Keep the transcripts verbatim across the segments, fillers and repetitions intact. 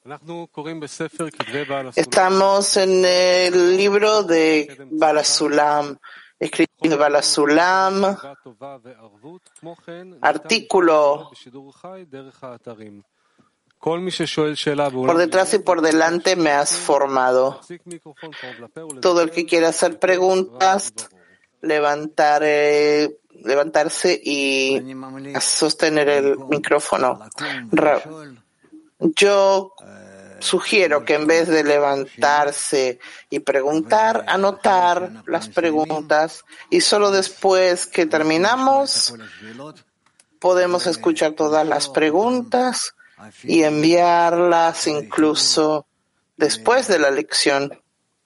Estamos en el libro de Baal HaSulam, escrito de Baal HaSulam, artículo por detrás y por delante me has formado. Todo el que quiera hacer preguntas, levantar, eh, levantarse y sostener el micrófono. Yo sugiero que en vez de levantarse y preguntar, anotar las preguntas y solo después que terminamos podemos escuchar todas las preguntas y enviarlas incluso después de la lección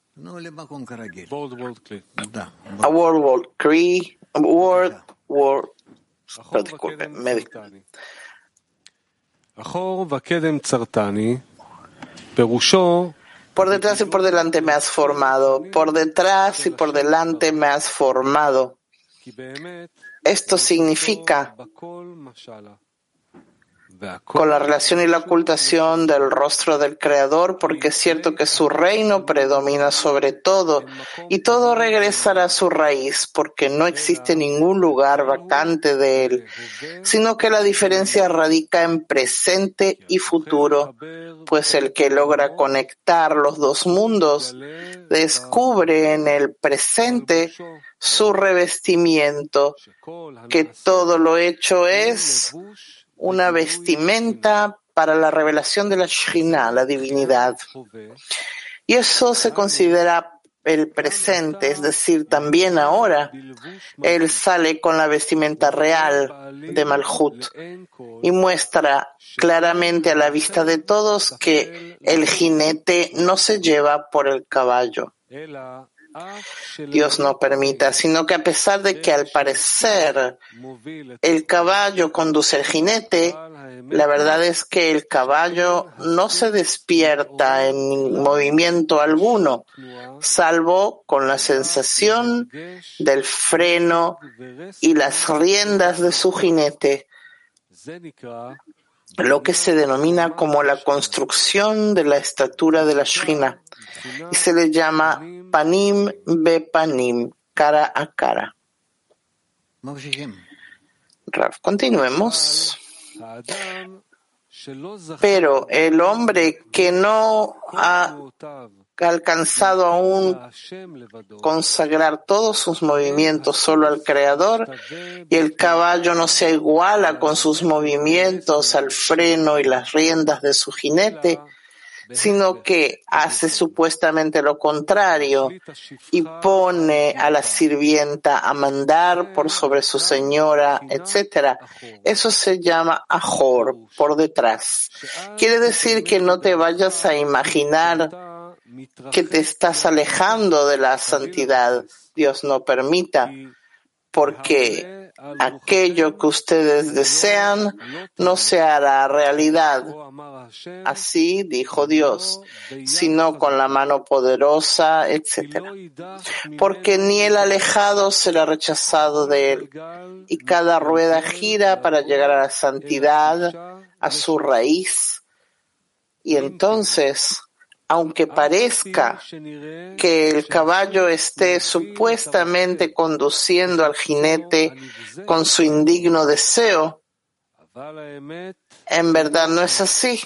a World World Cree, World World, no, disculpe, me Por detrás y por delante me has formado, por detrás y por delante me has formado. Esto significa con la relación y la ocultación del rostro del Creador, porque es cierto que su reino predomina sobre todo y todo regresará a su raíz, porque no existe ningún lugar vacante de él, sino que la diferencia radica en presente y futuro, pues el que logra conectar los dos mundos descubre en el presente su revestimiento, que todo lo hecho es una vestimenta para la revelación de la Shekhinah, la divinidad. Y eso se considera el presente, es decir, también ahora él sale con la vestimenta real de Malhut y muestra claramente a la vista de todos que el jinete no se lleva por el caballo. Dios no permita, sino que a pesar de que al parecer el caballo conduce al jinete, la verdad es que el caballo no se despierta en movimiento alguno, salvo con la sensación del freno y las riendas de su jinete, lo que se denomina como la construcción de la estatura de la Shekhinah, y se le llama panim be panim, cara a cara. Rav, continuemos. Pero el hombre que no ha alcanzado aún consagrar todos sus movimientos solo al Creador, y el caballo no se iguala con sus movimientos al freno y las riendas de su jinete, sino que hace supuestamente lo contrario y pone a la sirvienta a mandar por sobre su señora, etcétera. Eso se llama ajor, por detrás. Quiere decir que no te vayas a imaginar que te estás alejando de la santidad. Dios no permita, porque aquello que ustedes desean no se hará realidad. Así dijo Dios, sino con la mano poderosa, etcétera. Porque ni el alejado será rechazado de él, y cada rueda gira para llegar a la santidad, a su raíz. Y entonces, aunque parezca que el caballo esté supuestamente conduciendo al jinete con su indigno deseo, en verdad no es así,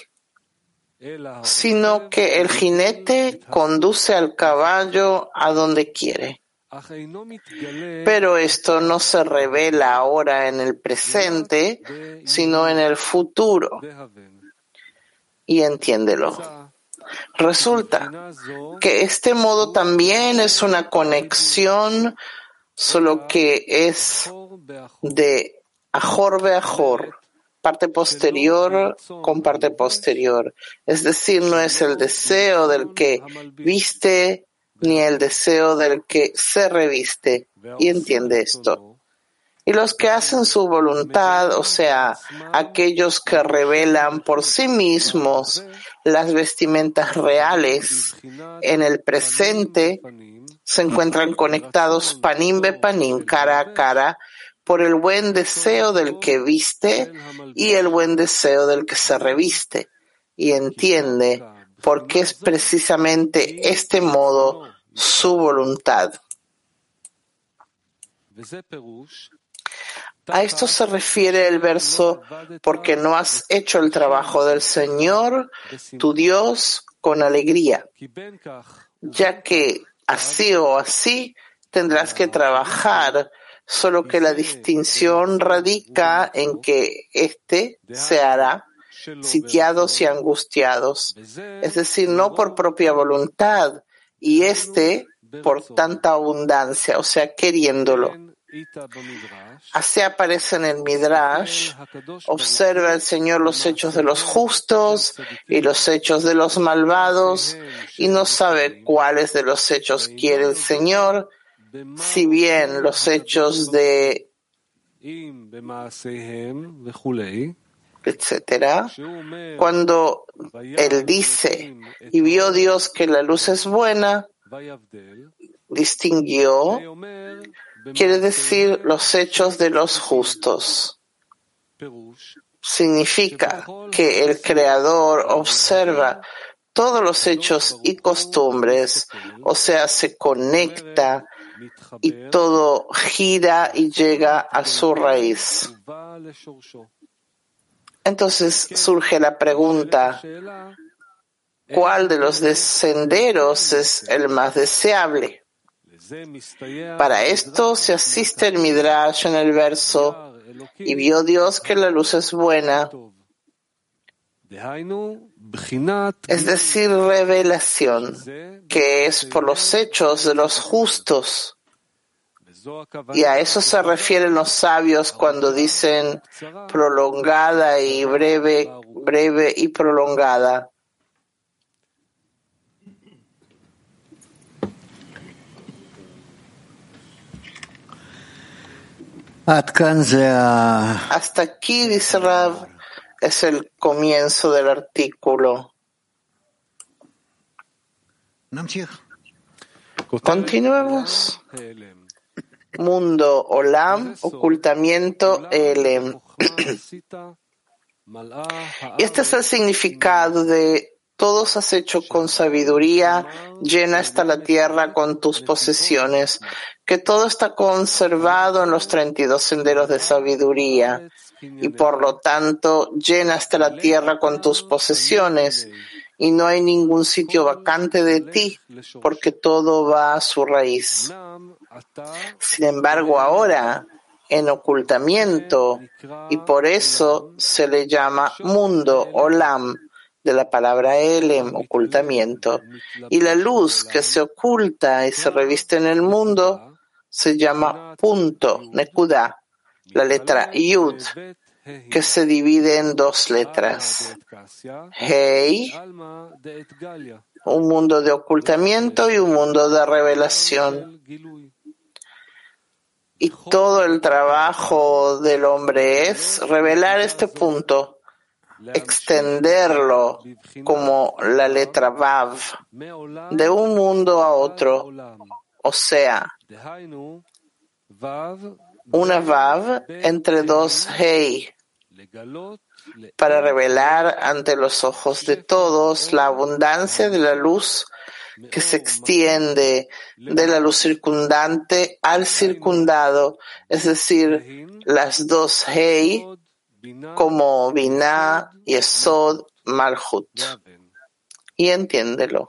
sino que el jinete conduce al caballo a donde quiere. Pero esto no se revela ahora en el presente, sino en el futuro. Y entiéndelo. Resulta que este modo también es una conexión, solo que es de ajor be ajor, parte posterior con parte posterior. Es decir, no es el deseo del que viste ni el deseo del que se reviste. Y entiende esto. Y los que hacen su voluntad, o sea, aquellos que revelan por sí mismos las vestimentas reales en el presente, se encuentran conectados panim be panim, cara a cara, por el buen deseo del que viste y el buen deseo del que se reviste. y entiende por qué es precisamente este modo su voluntad. A esto se refiere el verso, porque no has hecho el trabajo del Señor, tu Dios, con alegría, ya que así o así tendrás que trabajar, solo que la distinción radica en que éste se hará sitiados y angustiados, es decir, no por propia voluntad, y éste por tanta abundancia, o sea, queriéndolo. Así aparece en el Midrash: observa el Señor los hechos de los justos y los hechos de los malvados, y no sabe cuáles de los hechos quiere el Señor, si bien los hechos de etcétera. Cuando Él dice, y vio Dios que la luz es buena, distinguió, quiere decir los hechos de los justos. Significa que el Creador observa todos los hechos y costumbres, o sea, se conecta y todo gira y llega a su raíz. Entonces surge la pregunta, ¿cuál de los senderos es el más deseable? Para esto se asiste el Midrash en el verso, y vio Dios que la luz es buena, es decir, revelación, que es por los hechos de los justos. Y a eso se refieren los sabios cuando dicen prolongada y breve, breve y prolongada. Hasta aquí, dice Rav, es el comienzo del artículo. Continuemos. Mundo, Olam, ocultamiento, Elem. Y este es el significado de todos has hecho con sabiduría, llena está la tierra con tus posesiones, que todo está conservado en los treinta y dos senderos de sabiduría, y por lo tanto llena está la tierra con tus posesiones, y no hay ningún sitio vacante de ti, porque todo va a su raíz. Sin embargo, ahora, en ocultamiento, y por eso se le llama mundo, Olam, de la palabra Elem, ocultamiento, y la luz que se oculta y se reviste en el mundo se llama punto, Nekuda, la letra Yud, que se divide en dos letras. Hei, un mundo de ocultamiento y un mundo de revelación. Y todo el trabajo del hombre es revelar este punto, extenderlo como la letra Vav, de un mundo a otro, o sea, una Vav entre dos Hei, para revelar ante los ojos de todos la abundancia de la luz que se extiende de la luz circundante al circundado, es decir, las dos Hei, como Binah, Yesod, Malhut. Y entiéndelo.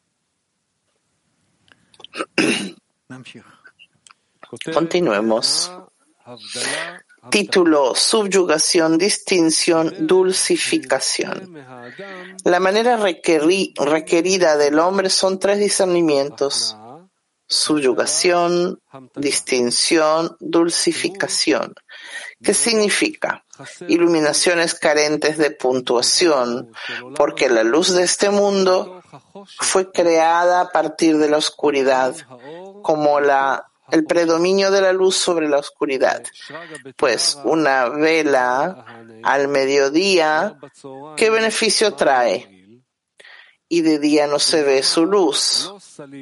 Continuemos. Título: Subyugación, distinción, dulcificación. La manera requerí, requerida del hombre son tres discernimientos: subyugación, distinción, dulcificación. ¿Qué significa? Iluminaciones carentes de puntuación, porque la luz de este mundo fue creada a partir de la oscuridad, como la el predominio de la luz sobre la oscuridad. Pues una vela al mediodía, ¿qué beneficio trae? Y de día no se ve su luz.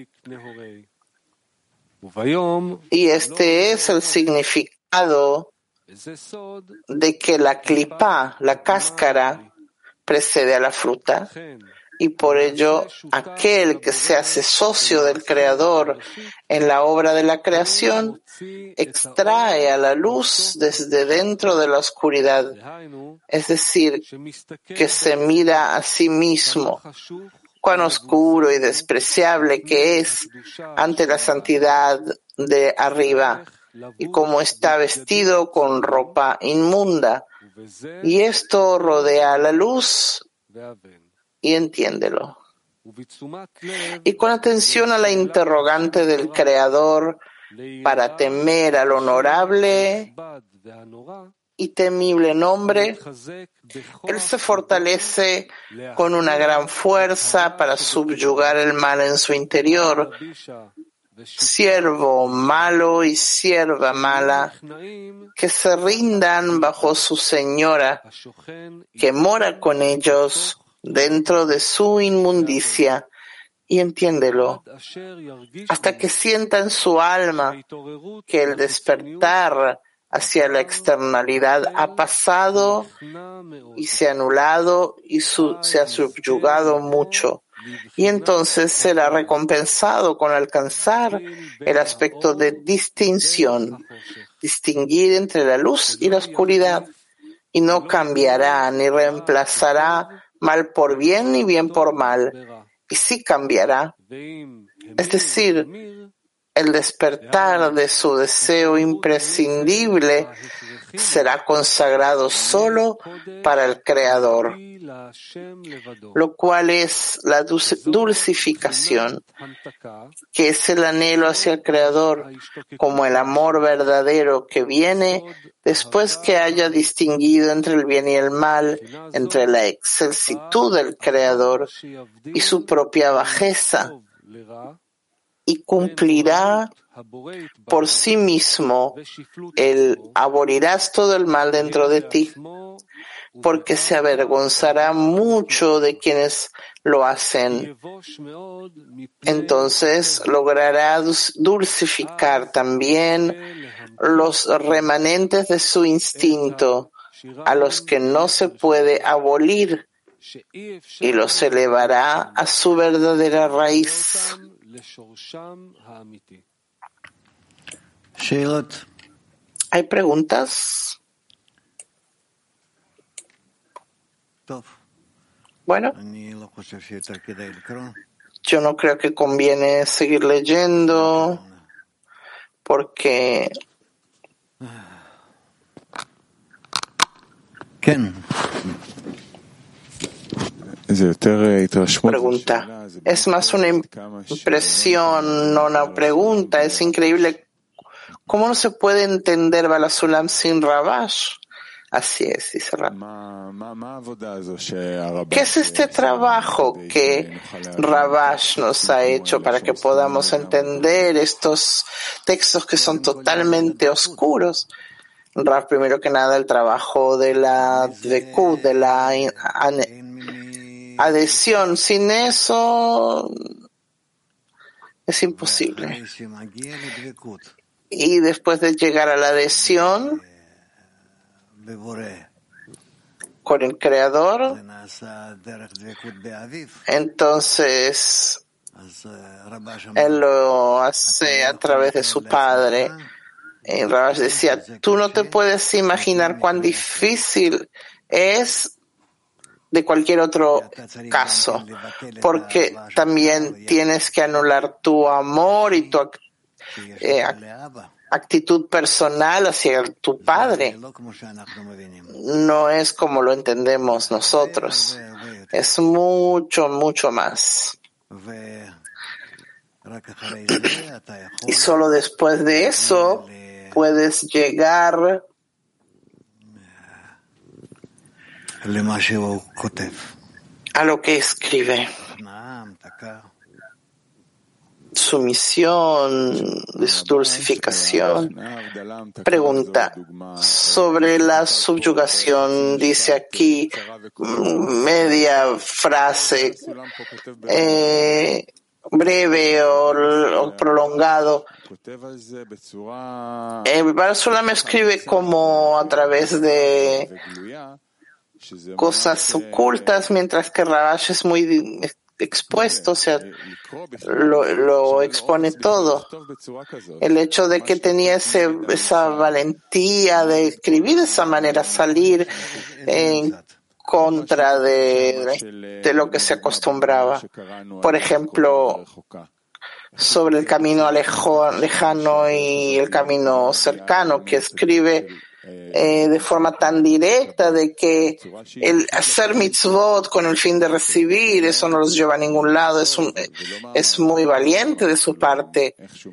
Y este es el significado de que la clipá, la cáscara, precede a la fruta, y por ello aquel que se hace socio del Creador en la obra de la creación extrae a la luz desde dentro de la oscuridad, es decir, que se mira a sí mismo, cuán oscuro y despreciable que es ante la santidad de arriba, y cómo está vestido con ropa inmunda, y esto rodea a la luz, y entiéndelo. Y con atención a la interrogante del Creador, para temer al honorable y temible nombre, él se fortalece con una gran fuerza para subyugar el mal en su interior. Siervo malo y sierva mala, que se rindan bajo su señora, que mora con ellos dentro de su inmundicia, y entiéndelo, hasta que sienta en su alma que el despertar hacia la externalidad ha pasado y se ha anulado y su, se ha subyugado mucho, y entonces será recompensado con alcanzar el aspecto de distinción, distinguir entre la luz y la oscuridad, y no cambiará ni reemplazará mal por bien ni bien por mal, y sí cambiará, es decir, el despertar de su deseo imprescindible será consagrado solo para el Creador, lo cual es la dulcificación, que es el anhelo hacia el Creador, como el amor verdadero que viene después que haya distinguido entre el bien y el mal, entre la excelsitud del Creador y su propia bajeza, y cumplirá por sí mismo el abolirás todo el mal dentro de ti, porque se avergonzará mucho de quienes lo hacen. Entonces logrará dulcificar también los remanentes de su instinto, a los que no se puede abolir, y los elevará a su verdadera raíz. ¿Hay preguntas? Bueno, yo no creo que conviene seguir leyendo porque pregunta. Es más una impresión, no una pregunta. Es increíble cómo no se puede entender Balasulam sin Rabash. Así es, dice Rab. ¿Qué es este trabajo que Rabash nos ha hecho para que podamos entender estos textos que son totalmente oscuros? Rab, primero que nada, el trabajo de la dvekut, de la adhesión. Sin eso es imposible. Y después de llegar a la adhesión con el Creador, entonces él lo hace a través de su padre. Y Rabash decía, tú no te puedes imaginar cuán difícil es de cualquier otro caso, porque también tienes que anular tu amor y tu eh, actitud personal hacia tu padre. No es como lo entendemos nosotros, es mucho, mucho más. Y solo después de eso puedes llegar a lo que escribe. Su misión de su dulcificación. Pregunta sobre la subyugación. Dice aquí media frase eh, breve o, o prolongado. Eh, Balasulam escribe como a través de cosas ocultas, mientras que Rabash es muy expuesto, o sea, lo, lo expone todo. El hecho de que tenía ese, esa valentía de escribir de esa manera, salir en contra de, de lo que se acostumbraba. Por ejemplo, sobre el camino alejo, lejano y el camino cercano, que escribe eh, de forma tan directa de que el hacer mitzvot con el fin de recibir, eso no los lleva a ningún lado, es, un, es muy valiente de su parte.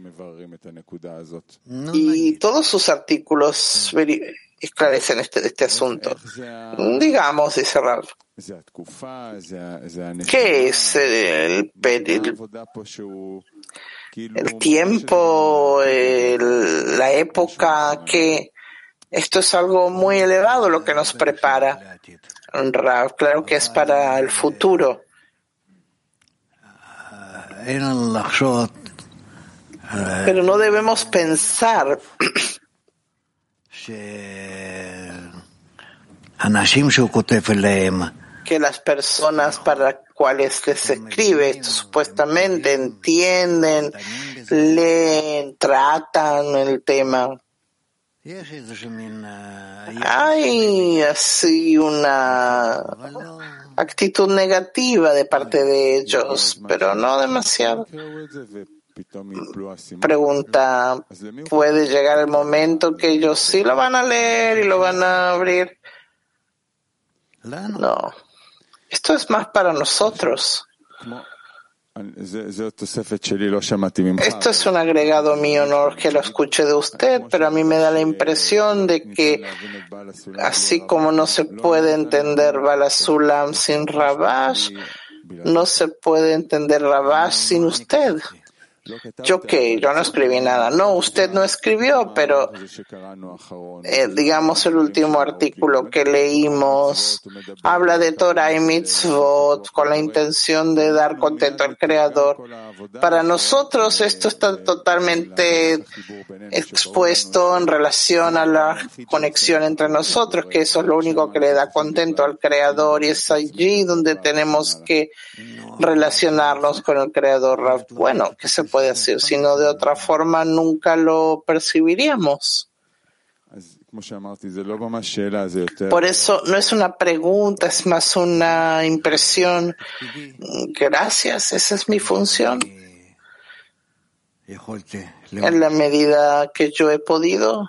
Y todos sus artículos esclarecen este, este asunto. Digamos, dice Rav, ¿qué es el, el, el tiempo, el, la época que esto es algo muy elevado lo que nos prepara? Rav, claro que es para el futuro. Pero no debemos pensar que las personas para cuales les escribe esto supuestamente entienden, leen, tratan el tema. Hay así una actitud negativa de parte de ellos, pero no demasiado. Pregunta, ¿puede llegar el momento que ellos sí lo van a leer y lo van a abrir? No. Esto es más para nosotros. Esto es un agregado mío, no que lo escuche de usted, pero a mí me da la impresión de que así como no se puede entender Bala Sulam sin Rabash, no se puede entender Rabash sin usted. ¿Yo qué? Yo no escribí nada. No, usted no escribió, pero eh, digamos el último artículo que leímos habla de Torah y Mitzvot con la intención de dar contento al Creador. Para nosotros esto está totalmente expuesto en relación a la conexión entre nosotros, que eso es lo único que le da contento al Creador y es allí donde tenemos que relacionarnos con el Creador. Bueno, ¿qué se puede hacer? Si no, de otra forma nunca lo percibiríamos. Por eso no es una pregunta, es más una impresión. Gracias, esa es mi función. En la medida que yo he podido.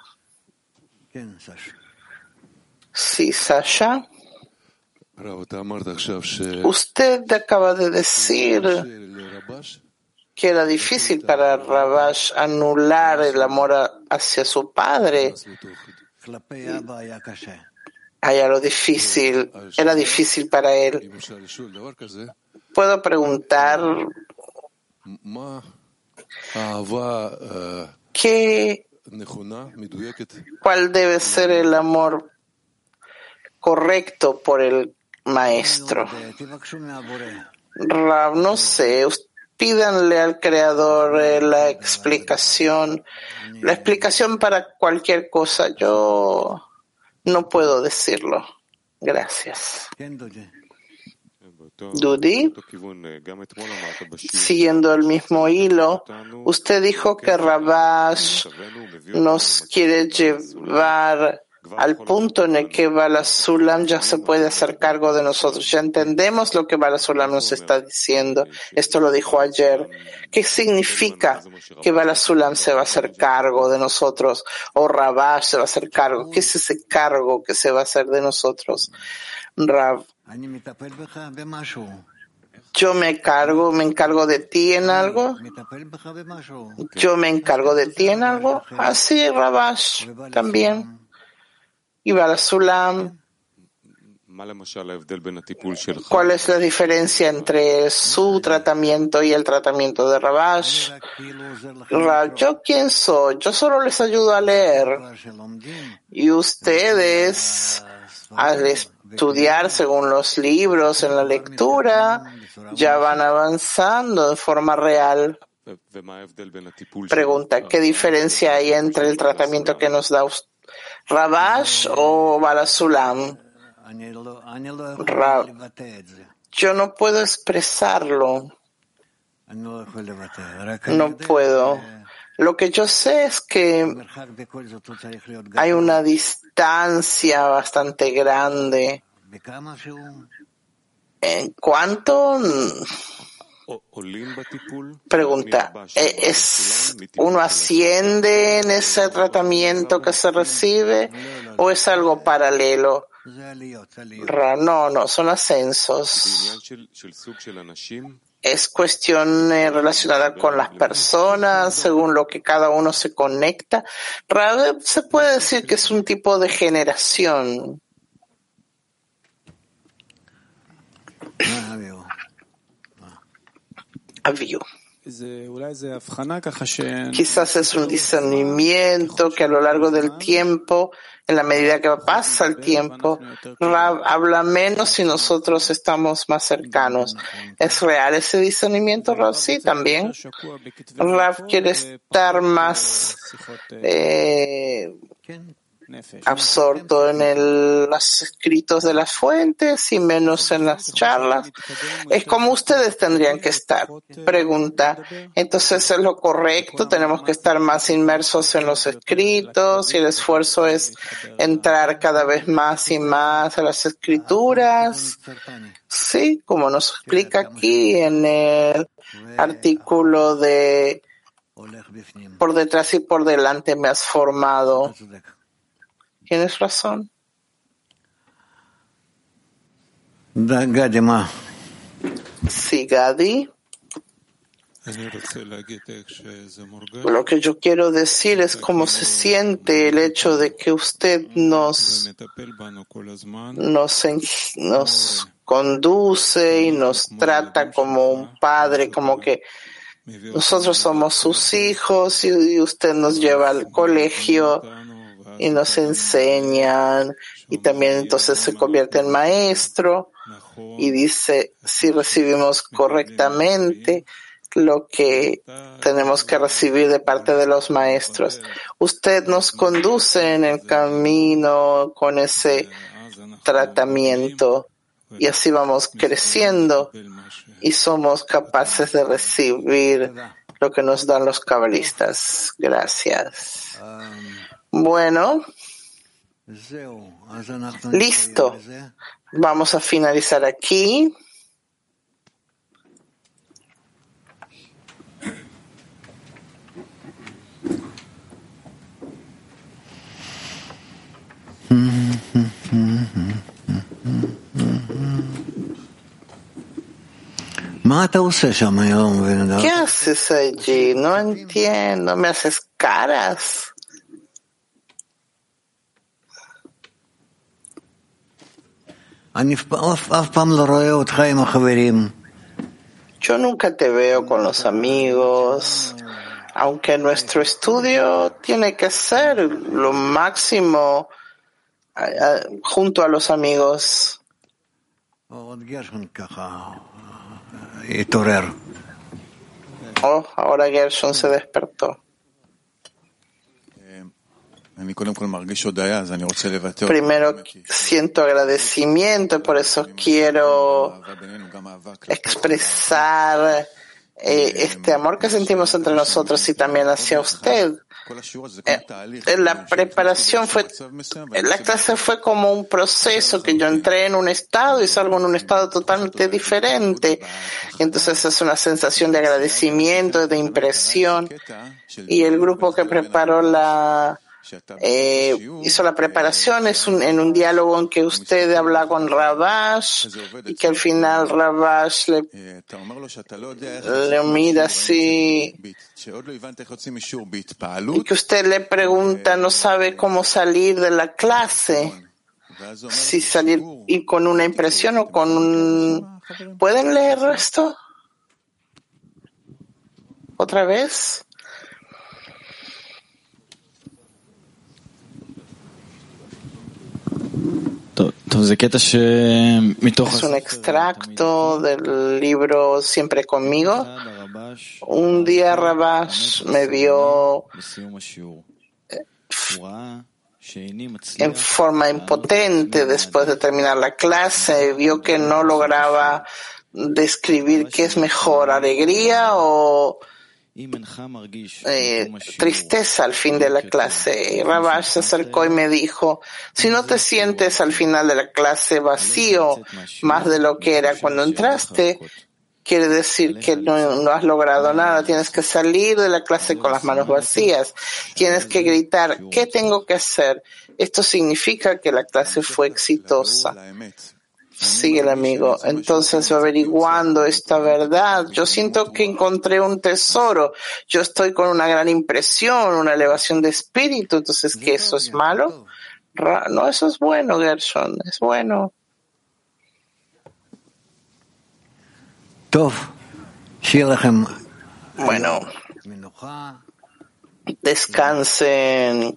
Sí, Sasha. Usted acaba de decir que era difícil para Rabash anular el amor hacia su padre. Allá lo difícil, era difícil para él. Puedo preguntar ¿qué, cuál debe ser el amor correcto por el maestro? Rab, no sé, pídanle al Creador eh, la explicación, la explicación para cualquier cosa. Yo no puedo decirlo. Gracias. Dudi, siguiendo el mismo hilo, usted dijo que Rabash nos quiere llevar al punto en el que Bala Sulam ya se puede hacer cargo de nosotros. Ya entendemos lo que Bala Sulam nos está diciendo. Esto lo dijo ayer. ¿Qué significa que Bala Sulam se va a hacer cargo de nosotros? O Rabash se va a hacer cargo. ¿Qué es ese cargo que se va a hacer de nosotros? Rab, yo me cargo, me encargo de ti en algo. Yo me encargo de ti en algo. Así Rabash también. Y Bala Sulam, ¿cuál es la diferencia entre su tratamiento y el tratamiento de Rabash? Rab, ¿yo quién soy? Yo solo les ayudo a leer. Y ustedes, al estudiar según los libros en la lectura, ya van avanzando de forma real. Pregunta, ¿qué diferencia hay entre el tratamiento que nos da usted? ¿Rabash o Bala Sulam? Rab, yo no puedo expresarlo. No puedo. Lo que yo sé es que hay una distancia bastante grande. ¿En cuánto? Pregunta, ¿es uno asciende en ese tratamiento que se recibe o es algo paralelo? No, no, son ascensos. Es cuestión eh, relacionada con las personas, según lo que cada uno se conecta. Se puede decir que es un tipo de generación. Avio. Quizás es un discernimiento que a lo largo del tiempo, en la medida que pasa el tiempo, Rav habla menos y nosotros estamos más cercanos. ¿Es real ese discernimiento, Rav? Sí, también. Rav quiere estar más eh, absorto en el, los escritos de las fuentes y menos en las charlas. Es como ustedes tendrían que estar. Pregunta, entonces es lo correcto, tenemos que estar más inmersos en los escritos y el esfuerzo es entrar cada vez más y más a las escrituras. Sí, como nos explica aquí en el artículo de por detrás y por delante me has formado. Tienes razón. Sí, Gadi. Lo que yo quiero decir es cómo se siente el hecho de que usted nos, nos, nos conduce y nos trata como un padre, como que nosotros somos sus hijos y usted nos lleva al colegio y nos enseñan y también entonces se convierte en maestro y dice si recibimos correctamente lo que tenemos que recibir de parte de los maestros. Usted nos conduce en el camino con ese tratamiento y así vamos creciendo y somos capaces de recibir lo que nos dan los cabalistas. Gracias. Bueno, listo. Vamos a finalizar aquí. ¿Qué haces allí? No entiendo. ¿Me haces caras? Yo nunca te veo con los amigos, aunque nuestro estudio tiene que ser lo máximo uh, junto a los amigos. Oh, ahora Gershon se despertó. Primero siento agradecimiento y por eso quiero expresar eh, este amor que sentimos entre nosotros y también hacia usted. Eh, la preparación fue, la clase fue como un proceso que yo entré en un estado y salgo en un estado totalmente diferente. Entonces es una sensación de agradecimiento, de impresión. Y el grupo que preparó la Eh, hizo la preparación es un, en un diálogo en que usted habla con Rabash y que al final Rabash le, le mira así y que usted le pregunta, no sabe cómo salir de la clase, si salir y con una impresión o con un... ¿Pueden leer esto? ¿Otra vez? Es un extracto del libro Siempre conmigo. Un día Rabash me vio en forma impotente después de terminar la clase, vio que no lograba describir qué es mejor, alegría o eh, tristeza al fin de la clase. Y Rabash se acercó y me dijo, si no te sientes al final de la clase vacío más de lo que era cuando entraste, quiere decir que no, no has logrado nada. Tienes que salir de la clase con las manos vacías. Tienes que gritar, ¿qué tengo que hacer? Esto significa que la clase fue exitosa. Sigue el amigo. Entonces, averiguando esta verdad, yo siento que encontré un tesoro. Yo estoy con una gran impresión, una elevación de espíritu. Entonces, ¿qué eso es malo? No, eso es bueno, Gershon. Es bueno. Bueno, descansen.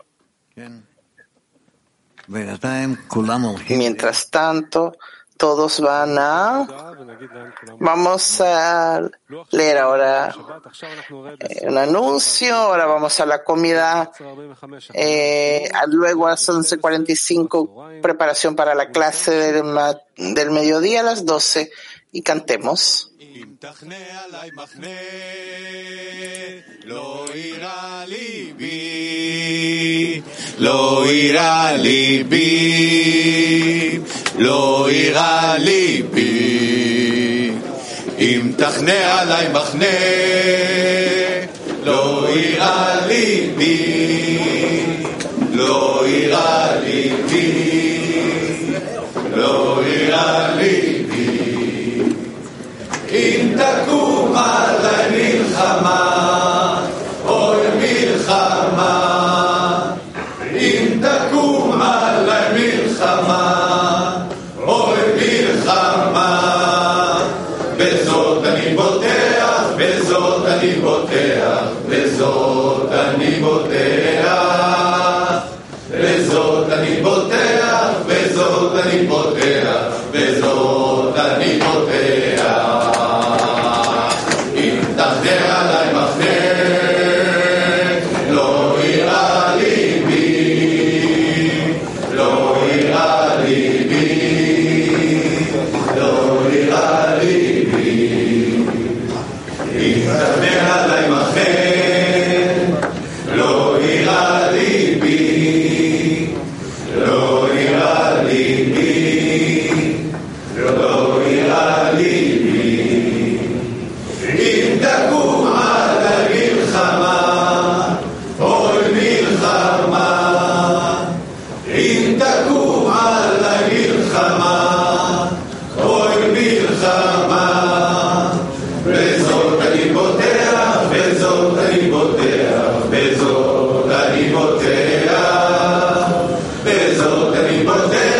Mientras tanto, todos van a... Vamos a leer ahora eh, un anuncio. Ahora vamos a la comida. Eh, luego a las once cuarenta y cinco, preparación para la clase del, ma- del mediodía a las doce. Y cantemos. תחנה עליי מחנה, לא אירע ליבי, לא אירע ליבי, לא אירע ליבי. אם תחנה עליי מחנה, לא אירע ליבי, לא אירע ליבי, לא אירע ליבי. אם תקום עלי מלחמה, אוי מלחמה. אם תקום עלי מלחמה, אוי מלחמה. בזאת אני בוטח, בזאת אני בוטח, בזאת אני בוטח. בזאת אני בוטח, בזאת אני בוטח, בזאת אני בוטח. תחנה עלי מחנה, לא אירע ליבי, לא אירע ליבי, לא אירע ליבי. אם תחנה עלי מחנה, לא אירע ליבי, לא אירע ליבי, לא אירע ליבי. אם תקום עלי מלחמה, אוי מלחמה. אם תקום עלי מלחמה, אוי מלחמה. בזאת אני בוטח, בזאת אני בוטח, בזאת אני בוטח, בזאת אני בוטח.